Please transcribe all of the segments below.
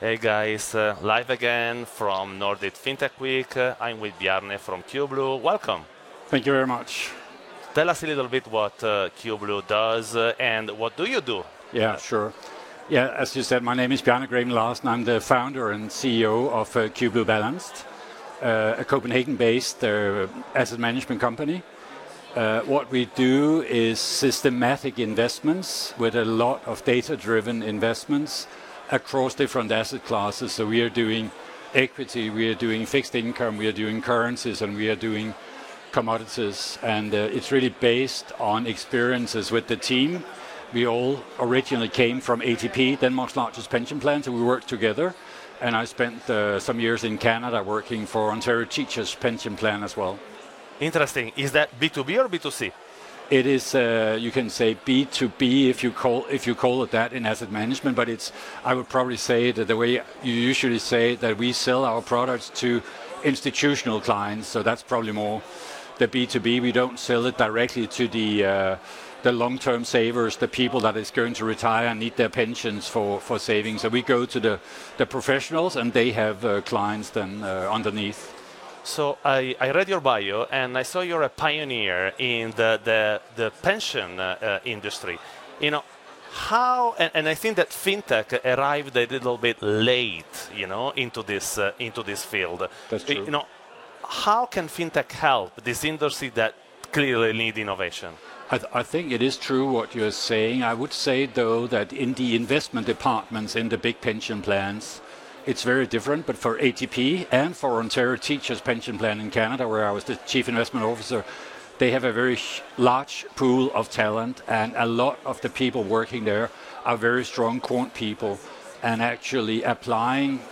Hey guys, live again from Nordic FinTech Week. I'm with Bjarne from Cublue. Welcome. Thank you very much. Tell us a little bit what Cublue does and what do you do? Yeah, sure. Yeah, as you said, my name is Bjarne Graven Larsen. I'm the founder and CEO of Cublue Balanced, a Copenhagen-based asset management company. What we do is systematic investments with a lot of data-driven investments across different asset classes. So we are doing equity, we are doing fixed income, we are doing currencies, and we are doing commodities. And it's really based on experiences with the team. We all originally came from ATP, Denmark's largest pension plan, so we worked together. And I spent some years in Canada working for Ontario Teachers' pension plan as well. Interesting. Is that B2B or B2C? It is, you can say B2B if you call it that in asset management, but I would probably say that the way you usually say that we sell our products to institutional clients, so that's probably more the B2B. We don't sell it directly to the long-term savers, the people that is going to retire and need their pensions for savings. So we go to the professionals and they have clients then underneath. So I read your bio and I saw you're a pioneer in the pension industry. You know, how, and I think that FinTech arrived a little bit late, you know, into this field. That's true. You know, how can FinTech help this industry that clearly need innovation? I think it is true what you're saying. I would say, though, that in the investment departments in the big pension plans, it's very different, but for ATP and for Ontario Teachers' pension plan in Canada, where I was the chief investment officer, they have a very large pool of talent, and a lot of the people working there are very strong quant people and actually applying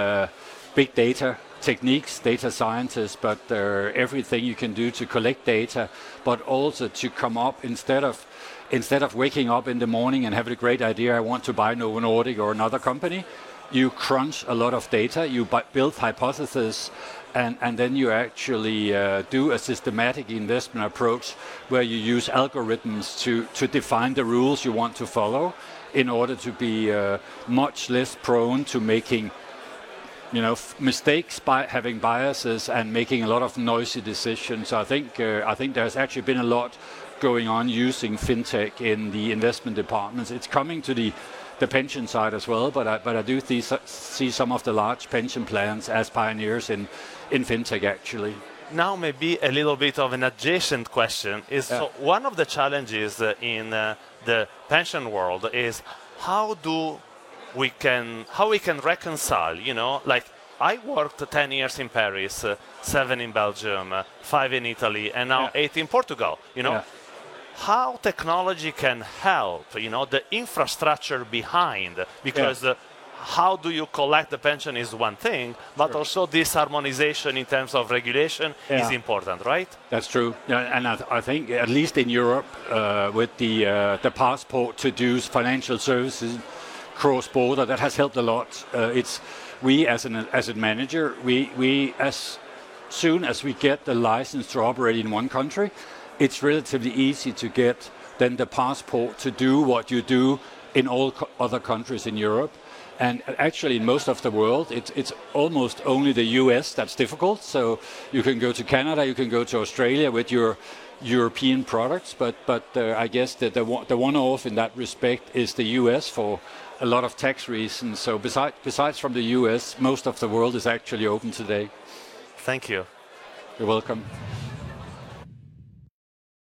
big data techniques, data scientists, but everything you can do to collect data, but also to come up instead of waking up in the morning and having a great idea, I want to buy Novo Nordisk or another company. You crunch a lot of data, you build hypotheses, and then you actually do a systematic investment approach where you use algorithms to define the rules you want to follow in order to be much less prone to making mistakes, by having biases and making a lot of noisy decisions. So I think there's actually been a lot going on using FinTech in the investment departments. It's coming to the pension side as well, but I do see some of the large pension plans as pioneers in FinTech actually. Now maybe a little bit of an adjacent question is so one of the challenges in the pension world is how we can reconcile, you know, like I worked 10 years in Paris, 7 in Belgium, 5 in Italy, and now 8 in Portugal, you know. How technology can help, you know, the infrastructure behind, because how do you collect the pension is one thing, but also this harmonization in terms of regulation is important, right? That's true. Yeah, and I think at least in Europe, with the passport to do financial services cross-border, that has helped a lot. We as an asset manager, we as soon as we get the license to operate in one country, it's relatively easy to get then the passport to do what you do in all other countries in Europe. And actually in most of the world, it's almost only the US that's difficult. So you can go to Canada, you can go to Australia with your European products, but I guess that the one-off in that respect is the US for a lot of tax reasons. So besides from the US, most of the world is actually open today. Thank you. You're welcome.